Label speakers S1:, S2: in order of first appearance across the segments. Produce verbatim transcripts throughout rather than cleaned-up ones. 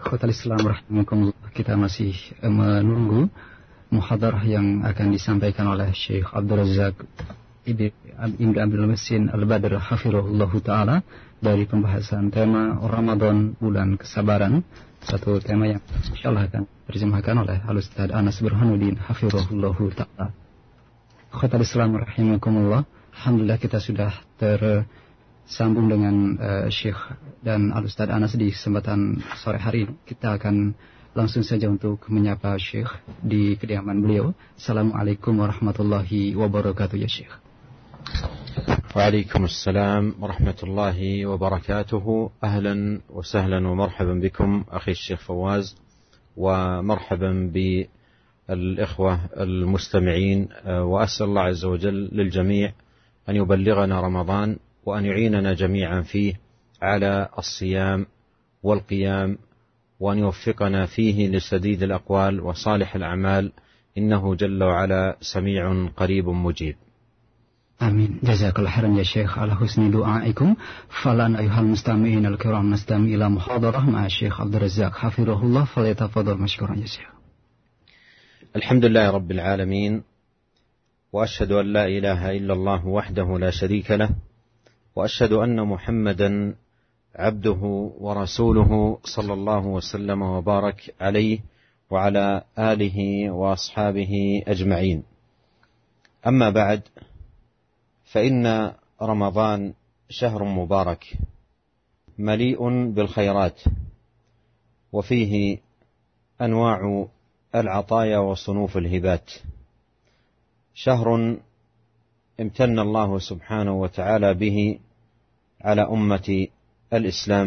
S1: Khotul Islam rahimakumullah, kita masih menunggu muhadarah yang akan disampaikan oleh Syekh Abdul Razak Ibn Abdul Muhsin Al-Badr hafizahullahu taala dari pembahasan tema Ramadan bulan kesabaran, satu tema yang insyaallah akan terjemahkan oleh Al-Ustaz Anas Burhanuddin hafizahullahu taala. Khotul Islam rahimakumullah, alhamdulillah kita sudah tersambung dengan uh, Syekh dan Al-Ustaz Anas di kesempatan sore hari ini. Kita akan langsung saja untuk menyapa Syekh di kediaman beliau. Assalamualaikum warahmatullahi wabarakatuh ya Syekh.
S2: وعليكم السلام ورحمة الله وبركاته. أهلا وسهلا ومرحبا بكم أخي الشيخ فواز، ومرحبا بالإخوة المستمعين، وأسأل الله عز وجل للجميع أن يبلغنا رمضان وأن يعيننا جميعا فيه على الصيام والقيام، وأن يوفقنا فيه لسديد الأقوال وصالح الأعمال، إنه جل وعلا سميع قريب مجيب.
S1: Amin. Jazakallah khairan ya Syekh ala husni du'aikum. Falan ayuhal mustami'in al-kiram nastami ila muhadarah ma'a Syekh Abdul Razak hafizahullah, falyatafaddal mashkuran ya Syekh.
S2: Alhamdulillah rabbil alamin, wa ashhadu an la ilaha illallah wahdahu la sharika lah, wa ashhadu anna Muhammadan abduhu wa rasuluhu sallallahu wa sallam wa barak alayhi wa ala alihi wa ashabihi ajma'in. Amma ba'd, فإن رمضان شهر مبارك مليء بالخيرات، وفيه أنواع العطايا وصنوف الهبات، شهر امتن الله سبحانه وتعالى به على أمة الإسلام،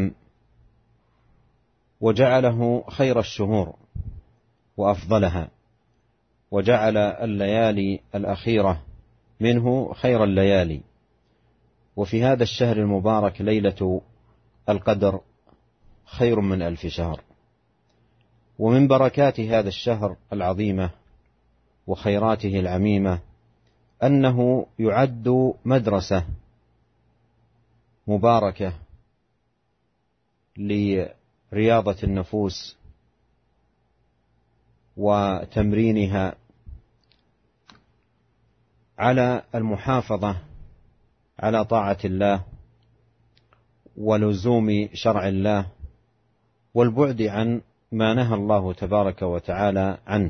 S2: وجعله خير الشهور وأفضلها، وجعل الليالي الأخيرة منه خير الليالي. وفي هذا الشهر المبارك ليلة القدر خير من ألف شهر. ومن بركات هذا الشهر العظيمة وخيراته العميمة أنه يعد مدرسة مباركة لرياضة النفوس وتمرينها على المحافظة على طاعة الله ولزوم شرع الله والبعد عن ما نهى الله تبارك وتعالى عنه،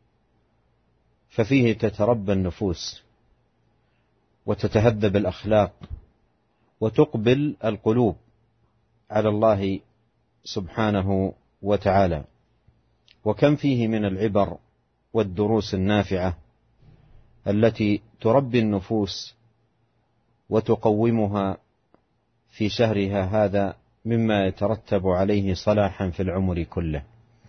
S2: ففيه تتربى النفوس وتتهذب الأخلاق وتقبل القلوب على الله سبحانه وتعالى. وكم فيه من العبر والدروس النافعة التي تربي النفوس وتقومها في شهرها هذا، مما يترتب عليه صلاحا في العمر كله.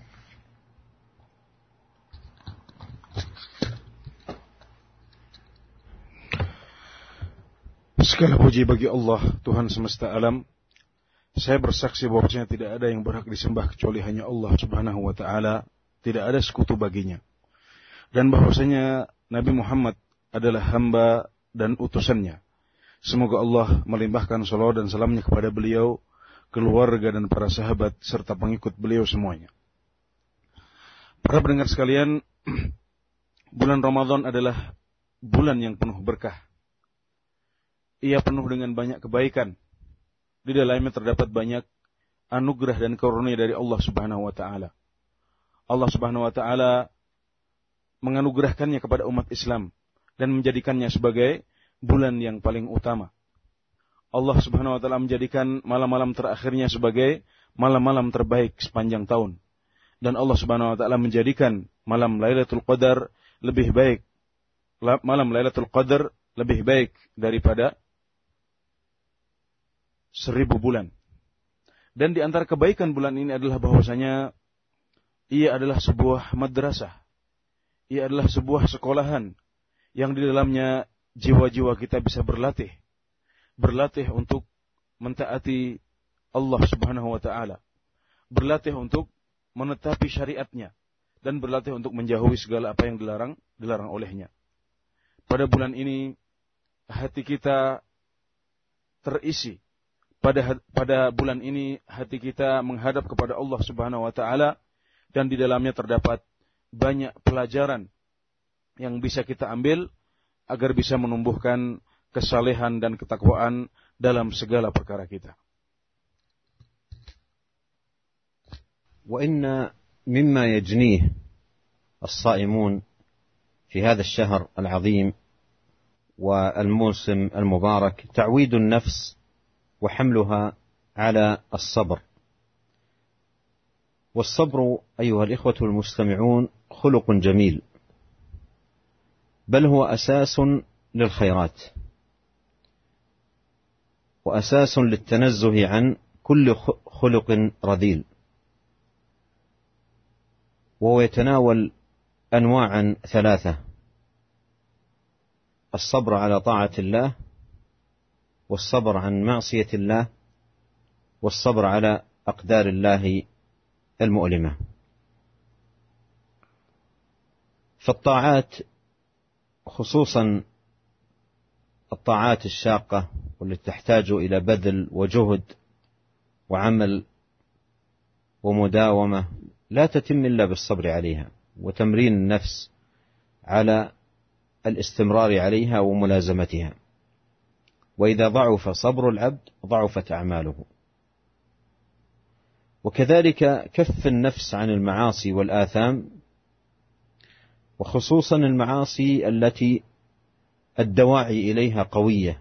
S3: Segala puji bagi Allah, Tuhan semesta alam. Saya bersaksi bahwasanya tidak ada yang berhak disembah kecuali hanya Allah Subhanahu wa taala, tidak ada sekutu baginya. Dan bahwasanya Nabi Muhammad adalah hamba dan utusannya. Semoga Allah melimpahkan salawat dan salamnya kepada beliau, keluarga dan para sahabat serta pengikut beliau semuanya. Para pendengar sekalian, bulan Ramadan adalah bulan yang penuh berkah. Ia penuh dengan banyak kebaikan. Di dalamnya terdapat banyak anugerah dan karunia dari Allah Subhanahu wa taala. Allah Subhanahu wa taala menganugerahkannya kepada umat Islam dan menjadikannya sebagai bulan yang paling utama. Allah Subhanahu wa taala menjadikan malam-malam terakhirnya sebagai malam-malam terbaik sepanjang tahun. Dan Allah Subhanahu wa taala menjadikan malam Lailatul Qadar lebih baik. Malam Lailatul Qadar lebih baik daripada seribu bulan. Dan di antara kebaikan bulan ini adalah bahwasanya ia adalah sebuah madrasah. Ia adalah sebuah sekolahan yang di dalamnya jiwa-jiwa kita bisa berlatih. Berlatih untuk mentaati Allah Subhanahu wa taala. Berlatih untuk menetapi syariatnya. Dan berlatih untuk menjauhi segala apa yang dilarang, dilarang olehnya. Pada bulan ini hati kita terisi pada pada bulan ini hati kita menghadap kepada Allah Subhanahu wa taala, dan di dalamnya terdapat banyak pelajaran yang bisa kita ambil agar bisa menumbuhkan kesalehan dan ketakwaan dalam segala perkara kita.
S2: وإن مما يجنيه الصائمون في هذا الشهر العظيم والموسم المبارك تعويد النفس وحملها على الصبر. والصبر أيها الإخوة المستمعون خلق جميل، بل هو أساس للخيرات وأساس للتنزه عن كل خلق رذيل، وهو يتناول أنواعا ثلاثة: الصبر على طاعة الله، والصبر عن معصية الله، والصبر على أقدار الله المؤلمة. فالطاعات خصوصا الطاعات الشاقة والتي تحتاج إلى بذل وجهد وعمل ومداومة لا تتم إلا بالصبر عليها وتمرين النفس على الاستمرار عليها وملازمتها. وإذا ضعف صبر العبد ضعفت أعماله. وكذلك كف النفس عن المعاصي والآثام، وخصوصا المعاصي التي الدواعي إليها قوية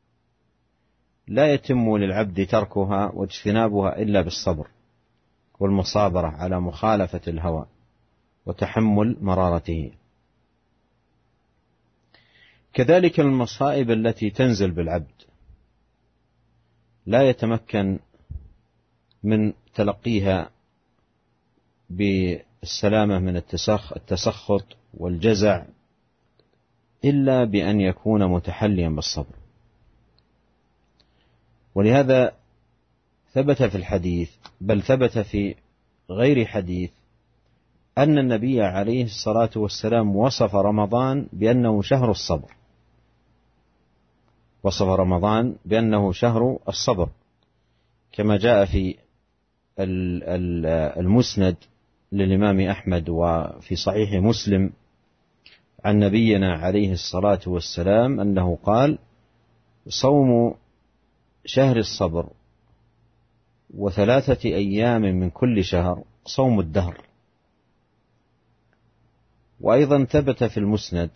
S2: لا يتم للعبد تركها واجتنابها إلا بالصبر والمصابرة على مخالفة الهوى وتحمل مرارته. كذلك المصائب التي تنزل بالعبد لا يتمكن من تلقيها بالسلامة من التسخط والجزع إلا بأن يكون متحليا بالصبر. ولهذا ثبت في الحديث، بل ثبت في غير حديث، أن النبي عليه الصلاة والسلام وصف رمضان بأنه شهر الصبر، وصف رمضان بأنه شهر الصبر، كما جاء في المسند للإمام أحمد وفي صحيح مسلم عن نبينا عليه الصلاة والسلام أنه قال: صوم شهر الصبر وثلاثة أيام من كل شهر صوم الدهر. وأيضا ثبت في المسند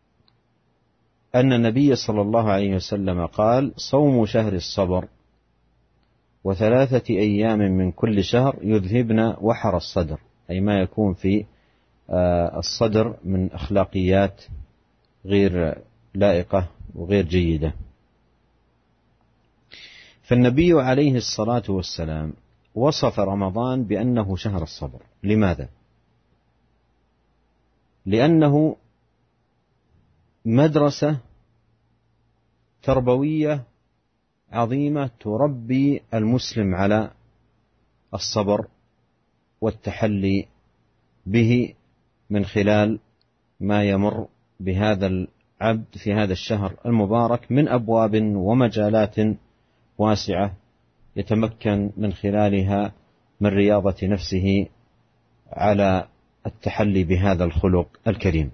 S2: أن النبي صلى الله عليه وسلم قال: صوم شهر الصبر وثلاثة أيام من كل شهر يذهبن وحر الصدر، أي ما يكون في الصدر من أخلاقيات غير لائقة وغير جيدة. فالنبي عليه الصلاة والسلام وصف رمضان بأنه شهر الصبر. لماذا؟ لأنه مدرسة تربوية عظيمة تربي المسلم على الصبر والتحلي به من خلال ما يمر بهذا العبد في هذا الشهر المبارك من أبواب ومجالات واسعة يتمكن من خلالها من رياضة نفسه على التحلي بهذا الخلق الكريم.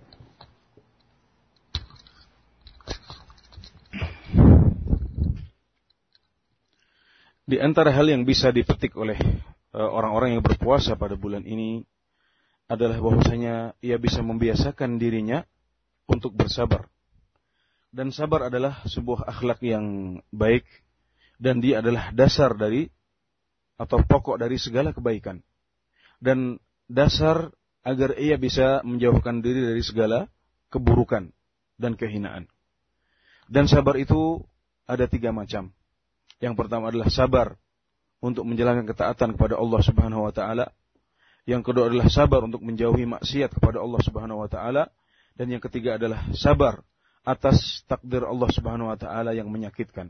S3: Di antara hal yang bisa dipetik oleh orang-orang yang berpuasa pada bulan ini adalah bahwasanya ia bisa membiasakan dirinya untuk bersabar. Dan sabar adalah sebuah akhlak yang baik, dan dia adalah dasar dari atau pokok dari segala kebaikan. Dan dasar agar ia bisa menjauhkan diri dari segala keburukan dan kehinaan. Dan sabar itu ada tiga macam. Yang pertama adalah sabar untuk menjalankan ketaatan kepada Allah Subhanahu wa taala. Yang kedua adalah sabar untuk menjauhi maksiat kepada Allah Subhanahu wa taala, dan yang ketiga adalah sabar atas takdir Allah Subhanahu wa taala yang menyakitkan.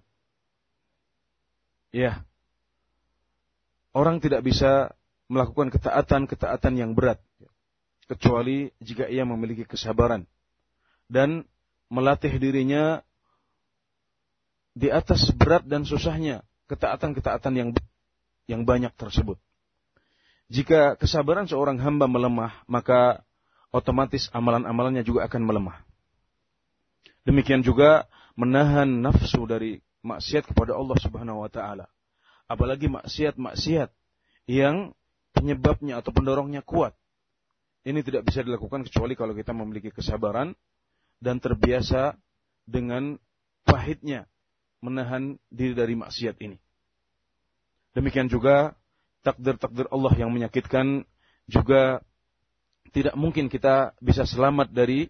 S3: Ya. Orang tidak bisa melakukan ketaatan-ketaatan yang berat kecuali jika ia memiliki kesabaran dan melatih dirinya di atas berat dan susahnya ketaatan-ketaatan yang yang banyak tersebut. Jika kesabaran seorang hamba melemah, maka otomatis amalan-amalannya juga akan melemah. Demikian juga menahan nafsu dari maksiat kepada Allah Subhanahu wa taala. Apalagi maksiat-maksiat yang penyebabnya atau pendorongnya kuat. Ini tidak bisa dilakukan kecuali kalau kita memiliki kesabaran dan terbiasa dengan pahitnya menahan diri dari maksiat ini. Demikian juga takdir-takdir Allah yang menyakitkan juga tidak mungkin kita bisa selamat dari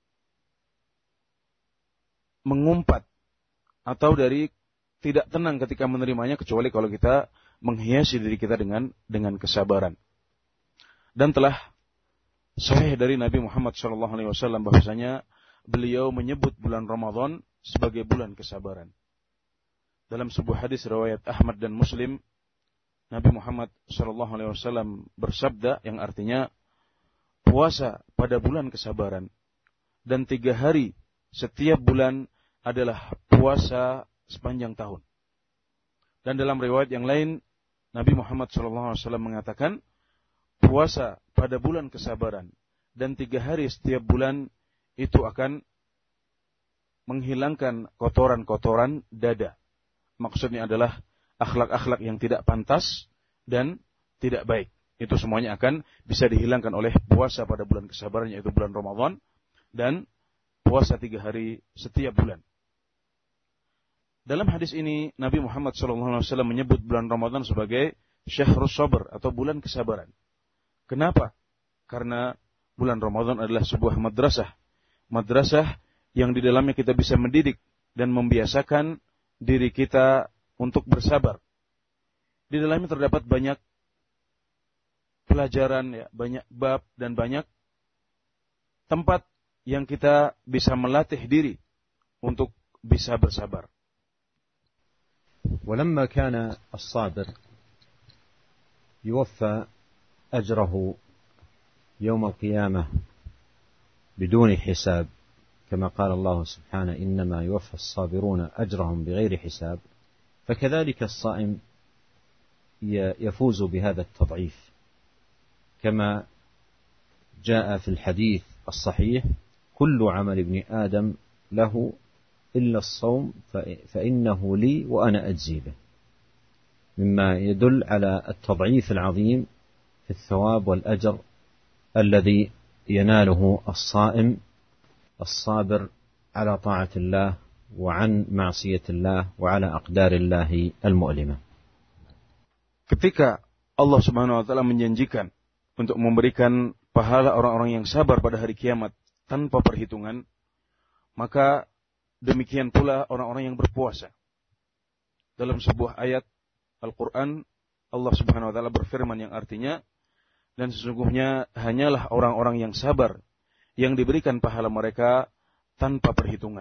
S3: mengumpat atau dari tidak tenang ketika menerimanya kecuali kalau kita menghiasi diri kita dengan dengan kesabaran. Dan telah sahih dari Nabi Muhammad shallallahu alaihi wasallam bahwasanya beliau menyebut bulan Ramadan sebagai bulan kesabaran. Dalam sebuah hadis riwayat Ahmad dan Muslim, Nabi Muhammad shallallahu alaihi wasallam bersabda yang artinya puasa pada bulan kesabaran dan tiga hari setiap bulan adalah puasa sepanjang tahun. Dan dalam riwayat yang lain Nabi Muhammad shallallahu alaihi wasallam mengatakan puasa pada bulan kesabaran dan tiga hari setiap bulan itu akan menghilangkan kotoran-kotoran dada. Maksudnya adalah akhlak-akhlak yang tidak pantas dan tidak baik. Itu semuanya akan bisa dihilangkan oleh puasa pada bulan kesabaran, yaitu bulan Ramadan, dan puasa tiga hari setiap bulan. Dalam hadis ini, Nabi Muhammad shallallahu alaihi wasallam menyebut bulan Ramadan sebagai syahrus sabr atau bulan kesabaran. Kenapa? Karena bulan Ramadan adalah sebuah madrasah. Madrasah yang di dalamnya kita bisa mendidik dan membiasakan diri kita untuk bersabar. Di dalamnya terdapat banyak pelajaran, ya, banyak bab dan banyak tempat yang kita bisa melatih diri untuk bisa bersabar.
S2: ولما كان الصابر يوفى أجره يوم القيامة بدون حساب كما قال الله سبحانه إنما يوفى الصابرون أجرهم بغير حساب فكذلك الصائم يفوز بهذا التضعيف كما جاء في الحديث الصحيح كل عمل ابن آدم له إلا الصوم فإنه لي وأنا أجزي به مما يدل على التضعيف العظيم في الثواب والأجر الذي يناله الصائم الصابر على طاعة الله وعن معصية الله وعلى أقدار الله المؤلمة.
S3: Ketika Allah Subhanahu wa taala menjanjikan untuk memberikan pahala orang-orang yang sabar pada hari kiamat tanpa perhitungan, maka demikian pula orang-orang yang berpuasa. Dalam sebuah ayat Al-Quran, Allah Subhanahu wa taala berfirman yang artinya, dan sesungguhnya hanyalah orang-orang yang sabar yang diberikan pahala mereka tanpa perhitungan.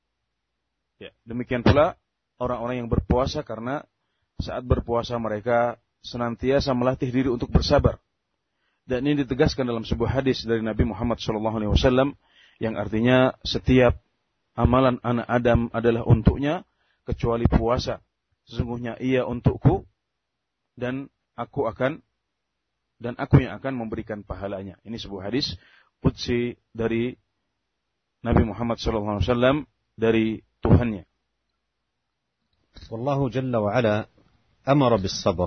S3: Ya, demikian pula orang-orang yang berpuasa karena saat berpuasa mereka senantiasa melatih diri untuk bersabar. Dan ini ditegaskan dalam sebuah hadis dari Nabi Muhammad shallallahu alaihi wasallam yang artinya setiap amalan anak Adam adalah untuknya kecuali puasa. Sesungguhnya ia untukku dan aku akan dan aku yang akan memberikan pahalanya. Ini sebuah hadis qudsi dari Nabi Muhammad shallallahu alaihi wasallam dari Tuhannya.
S2: والله جل وعلا أمر بالصبر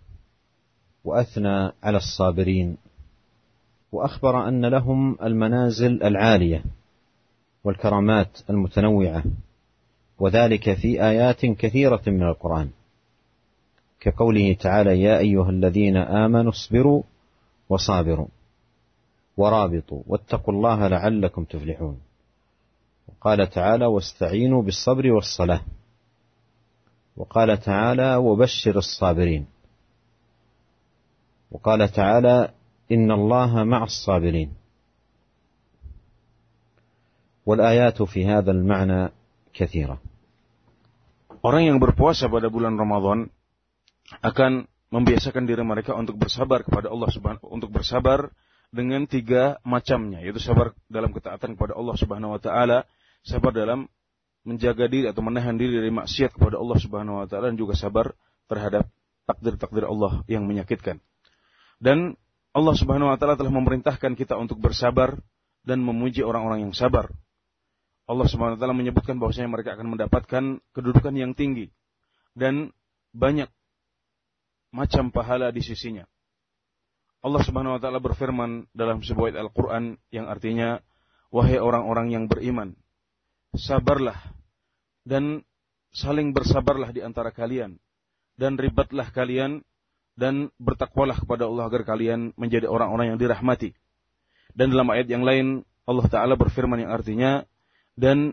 S2: وأثنى على الصابرين وأخبر أن لهم المنازل العالية والكرامات المتنوعة وذلك في آيات كثيرة من القرآن كقوله تعالى يا أيها الذين آمنوا اصبروا وصابروا ورابطوا واتقوا الله لعلكم تفلحون وقال تعالى واستعينوا بالصبر والصلاة وقال تعالى وبشر الصابرين وقال تعالى إن الله مع الصابرين والآيات في هذا المعنى كثيرة.
S3: Orang yang berpuasa pada bulan Ramadan akan membiasakan diri mereka untuk bersabar kepada Allah Subhanahu untuk bersabar dengan tiga macamnya, yaitu sabar dalam ketaatan kepada Allah Subhanahu wa taala, sabar dalam menjaga diri atau menahan diri dari maksiat kepada Allah Subhanahu wa taala, dan juga sabar terhadap takdir-takdir Allah yang menyakitkan. Dan Allah Subhanahu wa taala telah memerintahkan kita untuk bersabar dan memuji orang-orang yang sabar. Allah Subhanahu wa taala menyebutkan bahwasanya mereka akan mendapatkan kedudukan yang tinggi dan banyak macam pahala di sisinya. Allah Subhanahu wa taala berfirman dalam sebuah ayat Al-Qur'an yang artinya, wahai orang-orang yang beriman, sabarlah dan saling bersabarlah di antara kalian, dan ribatlah kalian dan bertakwalah kepada Allah agar kalian menjadi orang-orang yang dirahmati. Dan dalam ayat yang lain Allah Ta'ala berfirman yang artinya, dan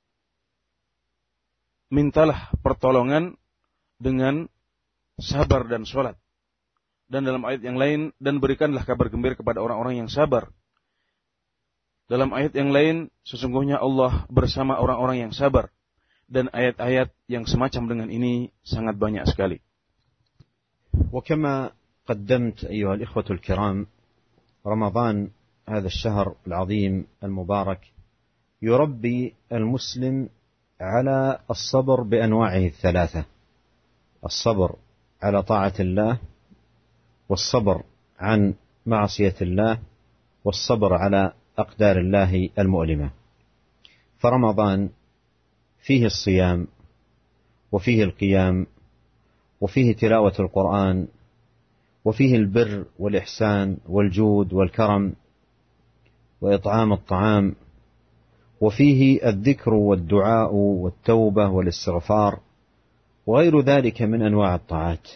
S3: mintalah pertolongan dengan sabar dan sholat. Dan dalam ayat yang lain, dan berikanlah kabar gembira kepada orang-orang yang sabar. Dalam ayat yang lain, sesungguhnya Allah bersama orang-orang yang sabar. Dan ayat-ayat yang semacam dengan ini sangat banyak sekali.
S2: وكما قدمت أيها الإخوة الكرام، رمضان هذا الشهر العظيم المبارك يربي المسلم على الصبر بأنواعه الثلاثة: الصبر على طاعة الله، والصبر عن معصية الله، والصبر على أقدار الله المؤلمة. فرمضان فيه الصيام، وفيه القيام، وفيه تلاوة القرآن، وفيه البر والإحسان والجود والكرم وإطعام الطعام، وفيه الذكر والدعاء والتوبة والاستغفار وغير ذلك من أنواع الطاعات،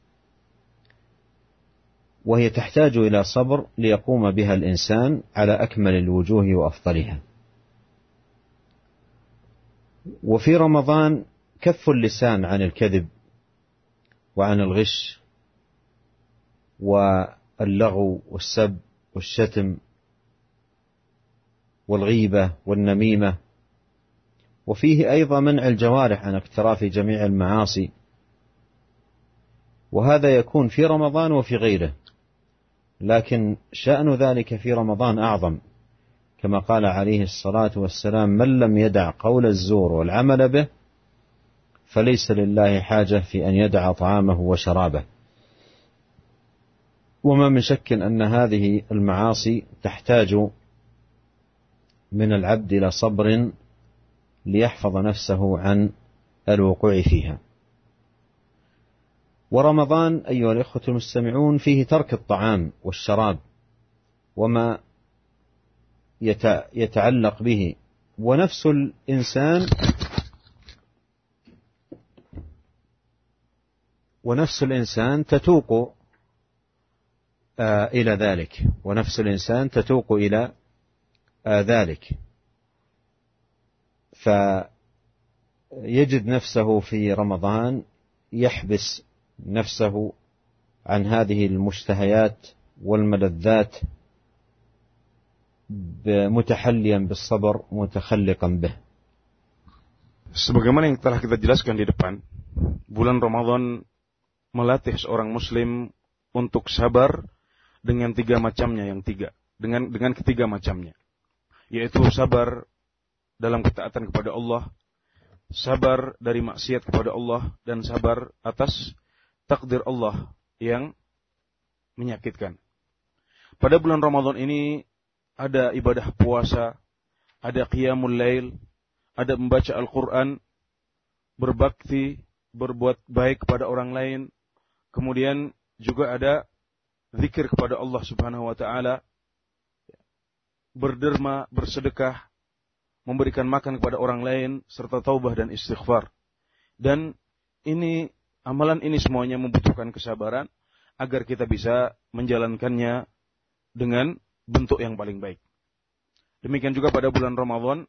S2: وهي تحتاج إلى صبر ليقوم بها الإنسان على أكمل الوجوه وأفضلها. وفي رمضان كف اللسان عن الكذب وعن الغش واللغو والسب والشتم والغيبة والنميمة، وفيه أيضا منع الجوارح عن اقتراف جميع المعاصي، وهذا يكون في رمضان وفي غيره، لكن شأن ذلك في رمضان أعظم، كما قال عليه الصلاة والسلام: من لم يدع قول الزور والعمل به فليس لله حاجة في أن يدع طعامه وشرابه. وما من شك أن هذه المعاصي تحتاج من العبد إلى صبر ليحفظ نفسه عن الوقوع فيها. ورمضان أيها الإخوة المستمعون فيه ترك الطعام والشراب وما يتعلق به، ونفس الإنسان ونفس الإنسان تتوق إلى ذلك ونفس الإنسان تتوق إلى ذلك فيجد نفسه في رمضان يحبس نفسه عن هذه المشتهيات والملذات متحليا بالصبر متخلقا به.
S3: Sebagaimana yang telah kita jelaskan di depan, bulan Ramadan melatih seorang muslim untuk sabar dengan tiga macamnya yang tiga, dengan dengan ketiga macamnya, yaitu sabar dalam ketaatan kepada Allah, sabar dari maksiat kepada Allah, dan sabar atas takdir Allah yang menyakitkan. Pada bulan Ramadan ini ada ibadah puasa, ada qiyamul lail, ada membaca Al-Quran, berbakti, berbuat baik kepada orang lain, kemudian juga ada zikir kepada Allah Subhanahu wa taala, berderma, bersedekah, memberikan makan kepada orang lain, serta taubah dan istighfar. Dan ini, amalan ini semuanya membutuhkan kesabaran agar kita bisa menjalankannya dengan bentuk yang paling baik. Demikian juga pada bulan Ramadan,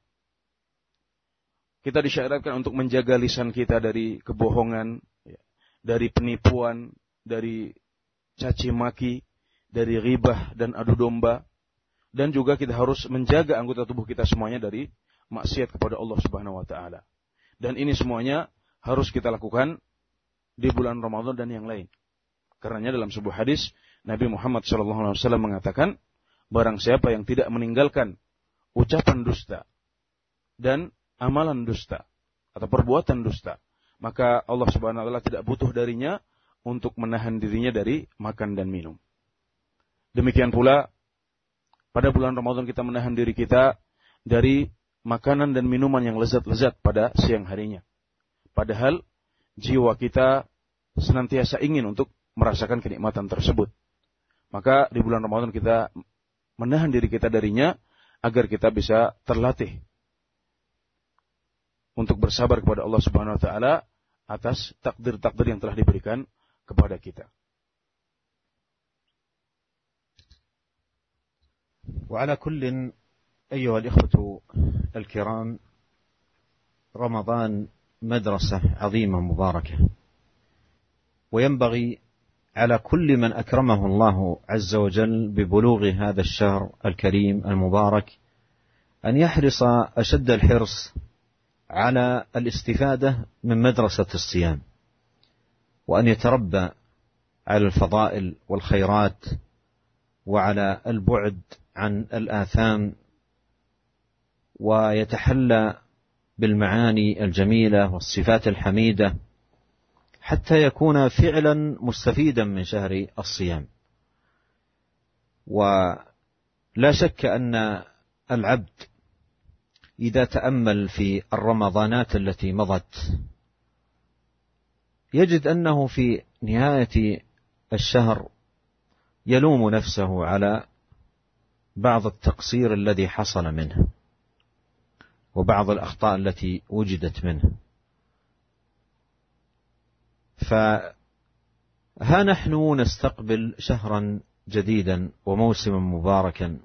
S3: kita disyaratkan untuk menjaga lisan kita dari kebohongan, dari penipuan, dari caci maki, dari ghibah dan adu domba, dan juga kita harus menjaga anggota tubuh kita semuanya dari maksiat kepada Allah Subhanahu wa taala. Dan ini semuanya harus kita lakukan di bulan Ramadan dan yang lain. Karenanya dalam sebuah hadis Nabi Muhammad shallallahu alaihi wasallam mengatakan, barang siapa yang tidak meninggalkan ucapan dusta dan amalan dusta atau perbuatan dusta, maka Allah Subhanahu wa taala tidak butuh darinya untuk menahan dirinya dari makan dan minum. Demikian pula pada bulan Ramadan kita menahan diri kita dari makanan dan minuman yang lezat-lezat pada siang harinya. Padahal jiwa kita senantiasa ingin untuk merasakan kenikmatan tersebut. Maka di bulan Ramadan kita menahan diri kita darinya agar kita bisa terlatih untuk bersabar kepada Allah Subhanahu wa taala atas takdir-takdir yang telah diberikan kepada kita.
S2: وعلى كل أيها الإخوة الكرام، رمضان مدرسة عظيمة مباركة، وينبغي على كل من أكرمه الله عز وجل ببلوغ هذا الشهر الكريم المبارك أن يحرص أشد الحرص على الاستفادة من مدرسة الصيام، وأن يتربى على الفضائل والخيرات وعلى البعد عن الآثام، ويتحلى بالمعاني الجميلة والصفات الحميدة حتى يكون فعلا مستفيدا من شهر الصيام. ولا شك أن العبد إذا تأمل في الرمضانات التي مضت يجد أنه في نهاية الشهر يلوم نفسه على بعض التقصير الذي حصل منه وبعض الأخطاء التي وجدت منه. فها نحن نستقبل شهرا جديدا وموسما مباركا،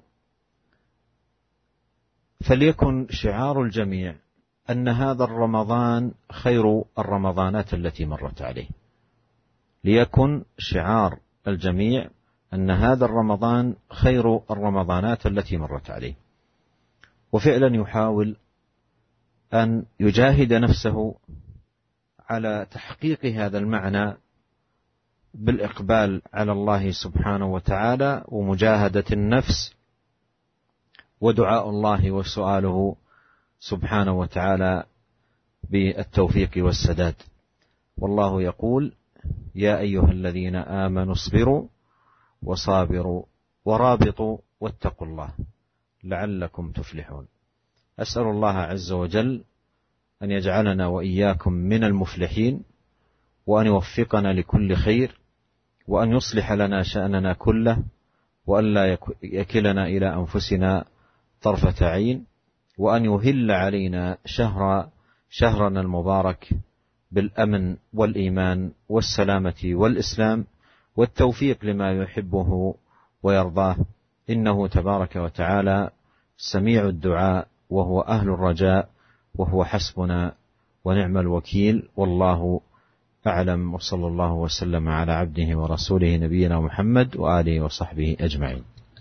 S2: فليكن شعار الجميع أن هذا الرمضان خير الرمضانات التي مرت عليه. ليكن شعار الجميع أن هذا الرمضان خير الرمضانات التي مرت عليه، وفعلا يحاول أن يجاهد نفسه على تحقيق هذا المعنى بالإقبال على الله سبحانه وتعالى ومجاهدة النفس ودعاء الله وسؤاله سبحانه وتعالى بالتوفيق والسداد. والله يقول: يا أيها الذين آمنوا اصبروا وصابروا ورابطوا واتقوا الله لعلكم تفلحون. أسأل الله عز وجل أن يجعلنا وإياكم من المفلحين، وأن يوفقنا لكل خير، وأن يصلح لنا شأننا كله، وأن لا يكلنا إلى أنفسنا طرفة عين، وأن يهل علينا شهر شهرنا المبارك بالأمن والإيمان والسلامة والإسلام والتوفيق لما يحبه ويرضاه، إنه تبارك وتعالى سميع الدعاء وهو أهل الرجاء وهو حسبنا ونعم الوكيل. والله أعلم، وصلى الله وسلم على عبده ورسوله نبينا محمد وآله وصحبه أجمعين.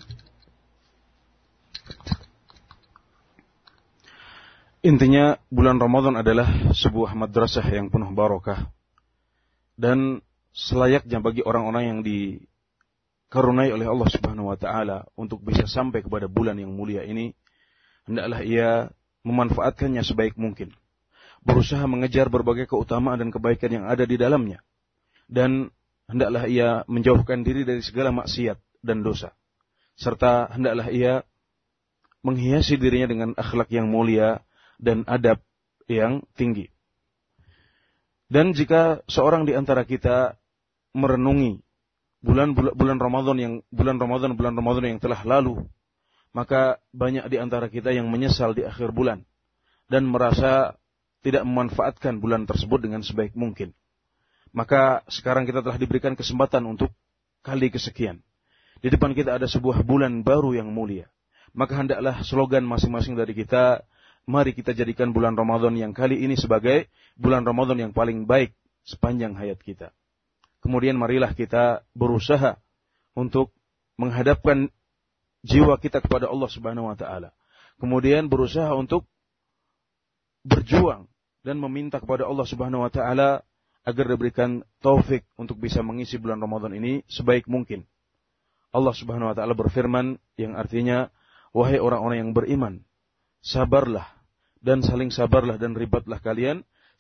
S3: Intinya bulan Ramadan adalah sebuah madrasah yang penuh barokah, dan selayaknya bagi orang-orang yang dikaruniai oleh Allah Subhanahu wa taala untuk bisa sampai kepada bulan yang mulia ini, hendaklah ia memanfaatkannya sebaik mungkin, berusaha mengejar berbagai keutamaan dan kebaikan yang ada di dalamnya, dan hendaklah ia menjauhkan diri dari segala maksiat dan dosa, serta hendaklah ia menghiasi dirinya dengan akhlak yang mulia dan adab yang tinggi. Dan jika seorang di antara kita merenungi bulan bulan Ramadan yang bulan Ramadan bulan Ramadan yang telah lalu, maka banyak di antara kita yang menyesal di akhir bulan dan merasa tidak memanfaatkan bulan tersebut dengan sebaik mungkin. Maka sekarang kita telah diberikan kesempatan untuk kali kesekian. Di depan kita ada sebuah bulan baru yang mulia. Maka hendaklah slogan masing-masing dari kita, mari kita jadikan bulan Ramadan yang kali ini sebagai bulan Ramadan yang paling baik sepanjang hayat kita. Kemudian marilah kita berusaha untuk menghadapkan jiwa kita kepada Allah Subhanahu wa taala. Kemudian berusaha untuk berjuang dan meminta kepada Allah Subhanahu wa taala agar diberikan taufik untuk bisa mengisi bulan Ramadan ini sebaik mungkin. Allah Subhanahu wa taala berfirman yang artinya, wahai orang-orang yang beriman, sabarlah dan saling sabarlah dan ribatlah kalian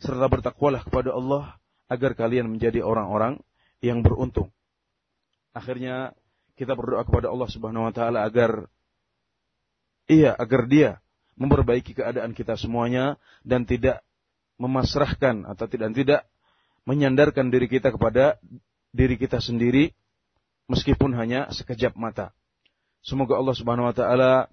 S3: serta bertakwalah kepada Allah agar kalian menjadi orang-orang yang beruntung. Akhirnya kita berdoa kepada Allah Subhanahu wa taala agar iya agar Dia memperbaiki keadaan kita semuanya dan tidak memasrahkan atau tidak tidak menyandarkan diri kita kepada diri kita sendiri meskipun hanya sekejap mata. Semoga Allah Subhanahu wa taala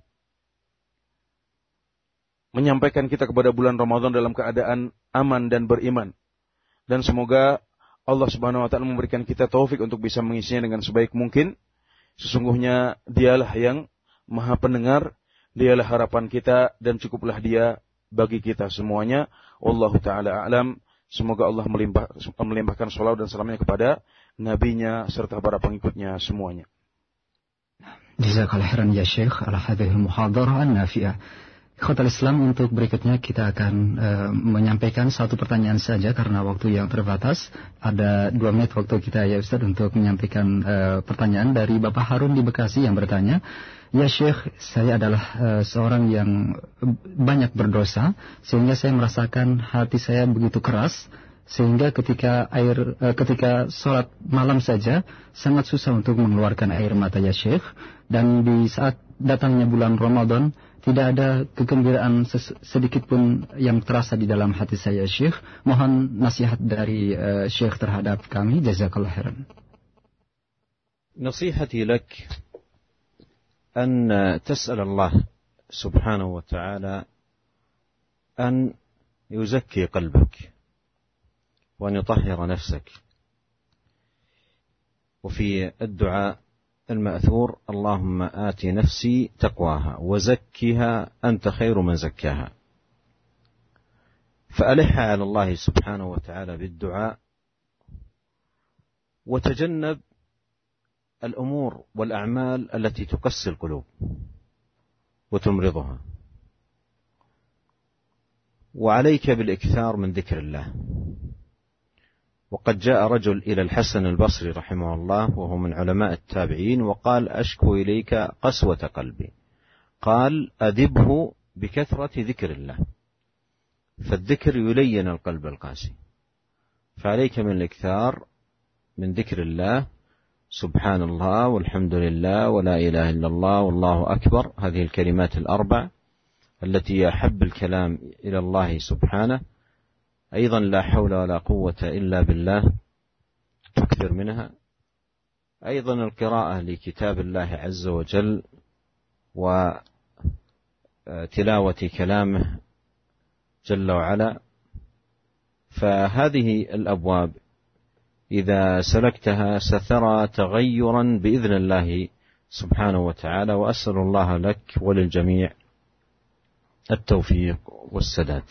S3: menyampaikan kita kepada bulan Ramadan dalam keadaan aman dan beriman. Dan semoga Allah Subhanahu wa taala memberikan kita taufik untuk bisa mengisinya dengan sebaik mungkin. Sesungguhnya Dialah yang Maha Pendengar, Dialah harapan kita dan cukuplah Dia bagi kita semuanya. Wallahu taala a'lam. Semoga Allah melimpah, melimpahkan shalawat dan salamnya kepada nabinya serta para pengikutnya semuanya.
S1: Jazakallahu khairan ya Syekh ala hadhihi al-muhadarah an-nafi'ah. Ikhwatal Islam, untuk berikutnya kita akan uh, menyampaikan satu pertanyaan saja karena waktu yang terbatas. Ada dua menit waktu kita ya Ustaz untuk menyampaikan uh, pertanyaan dari Bapak Harun di Bekasi yang bertanya, ya Syekh, saya adalah uh, seorang yang banyak berdosa sehingga saya merasakan hati saya begitu keras sehingga ketika air uh, ketika sholat malam saja sangat susah untuk mengeluarkan air mata ya Syekh, dan di saat datangnya bulan Ramadan tidak ada kegembiraan sedikit pun yang terasa di dalam hati saya Syekh. Mohon nasihat dari uh, Syekh terhadap kami. Jazakallahu khairan.
S2: نصيحتي لك أن تسأل الله سبحانه وتعالى أن يزكي قلبك وأن يطهر نفسك. وفي الدعاء المأثور اللهم آت نفسي تقواها وزكها أنت خير من زكاها. فألح على الله سبحانه وتعالى بالدعاء وتجنب الأمور والأعمال التي تقسي القلوب وتمرضها. وعليك بالإكثار من ذكر الله. وقد جاء رجل إلى الحسن البصري رحمه الله وهو من علماء التابعين وقال أشكو إليك قسوة قلبي. قال أدبه بكثرة ذكر الله، فالذكر يلين القلب القاسي. فعليك من الإكثار من ذكر الله، سبحان الله والحمد لله ولا إله إلا الله والله أكبر، هذه الكلمات الأربع التي أحب الكلام إلى الله سبحانه. أيضا لا حول ولا قوة إلا بالله تكثر منها. أيضا القراءة لكتاب الله عز وجل وتلاوة كلامه جل وعلا. فهذه الأبواب إذا سلكتها سترى تغيرا بإذن الله سبحانه وتعالى. وأسأل الله لك وللجميع التوفيق والسداد.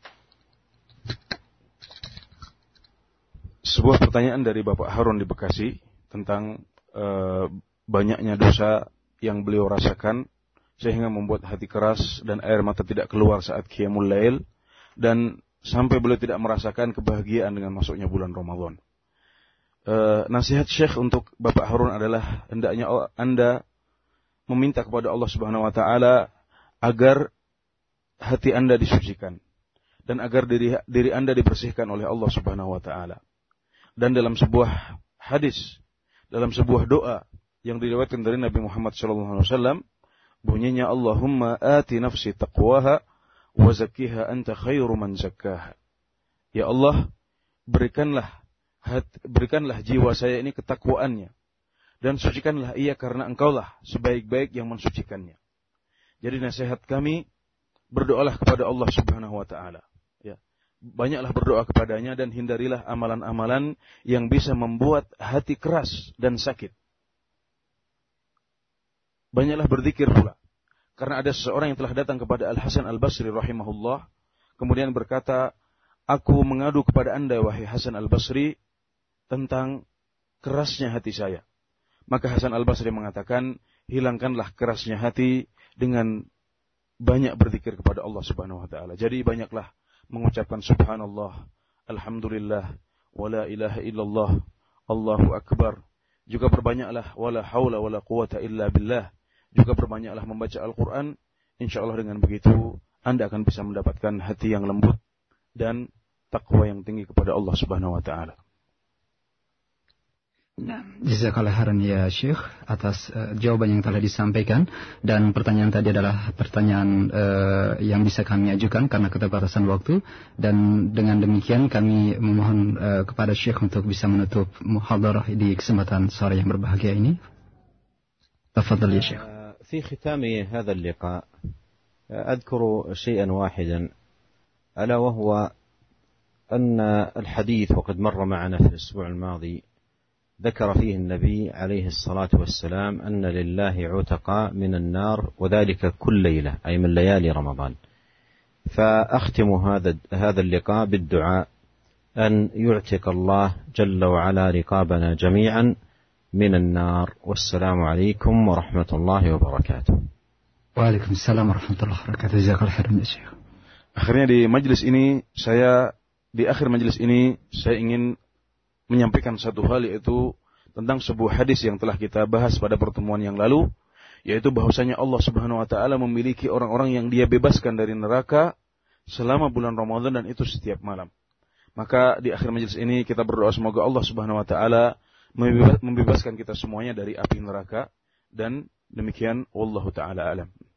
S3: Sebuah pertanyaan dari Bapak Harun di Bekasi tentang e, banyaknya dosa yang beliau rasakan sehingga membuat hati keras dan air mata tidak keluar saat qiyamul lail, dan sampai beliau tidak merasakan kebahagiaan dengan masuknya bulan Ramadan. E, nasihat Syekh untuk Bapak Harun adalah hendaknya Anda meminta kepada Allah Subhanahu wa taala agar hati Anda disucikan dan agar diri diri Anda dibersihkan oleh Allah Subhanahu wa taala. Dan dalam sebuah hadis, dalam sebuah doa yang diriwayatkan dari Nabi Muhammad shallallahu alaihi wasallam, bunyinya Allahumma ati nafsi taqwaha wa zakkiha anta khairu man zakkaha. Ya Allah, berikanlah hati, berikanlah jiwa saya ini ketakwaannya dan sucikanlah ia karena Engkaulah sebaik-baik yang mensucikannya. Jadi nasihat kami, berdoalah kepada Allah Subhanahu wa taala. Ya. Banyaklah berdoa kepadanya dan hindarilah amalan-amalan yang bisa membuat hati keras dan sakit. Banyaklah berzikir pula. Karena ada seseorang yang telah datang kepada Al-Hasan Al-Basri rahimahullah, kemudian berkata, aku mengadu kepada anda wahai Hasan Al-Basri tentang kerasnya hati saya. Maka Hasan Al-Basri mengatakan, hilangkanlah kerasnya hati dengan banyak berzikir kepada Allah Subhanahu wa taala. Jadi banyaklah mengucapkan subhanallah, alhamdulillah, wala ilaha illallah, Allahu akbar. Juga perbanyaklah wala haula wala quwata illa billah. Juga perbanyaklah membaca Al-Qur'an. Insyaallah dengan begitu Anda akan bisa mendapatkan hati yang lembut dan takwa yang tinggi kepada Allah Subhanahu wa taala.
S1: Jazakallah khairan ya Syekh atas uh, jawaban yang telah disampaikan, dan pertanyaan tadi adalah pertanyaan uh, yang bisa kami ajukan karena keterbatasan waktu, dan dengan demikian kami memohon uh, kepada Syekh untuk bisa menutup muhadarah di kesempatan sore yang berbahagia ini. Tafadhal ya Syekh.
S2: في ختام هذا اللقاء أذكر شيئا واحدا ألا وهو أن الحديث وقد مر معنا في الأسبوع الماضي ذكر فيه النبي عليه الصلاة والسلام أن لله عتقاء من النار وذلك كل ليلة أي من ليالي رمضان. فأختم هذا هذا اللقاء بالدعاء أن يعتق الله جل وعلا رقابنا جميعا من النار. والسلام عليكم ورحمة الله وبركاته.
S1: Waalaikumsalam warahmatullahi wabarakatuh. Jazakallahu khairan ya Syekh.
S3: Akhirnya di majelis ini saya di akhir majelis ini saya ingin menyampaikan satu hal, yaitu tentang sebuah hadis yang telah kita bahas pada pertemuan yang lalu, yaitu bahwasanya Allah Subhanahu wa taala memiliki orang-orang yang Dia bebaskan dari neraka selama bulan Ramadan, dan itu setiap malam. Maka di akhir majelis ini kita berdoa semoga Allah Subhanahu wa taala membebaskan kita semuanya dari api neraka, dan demikian wallahu taala alam.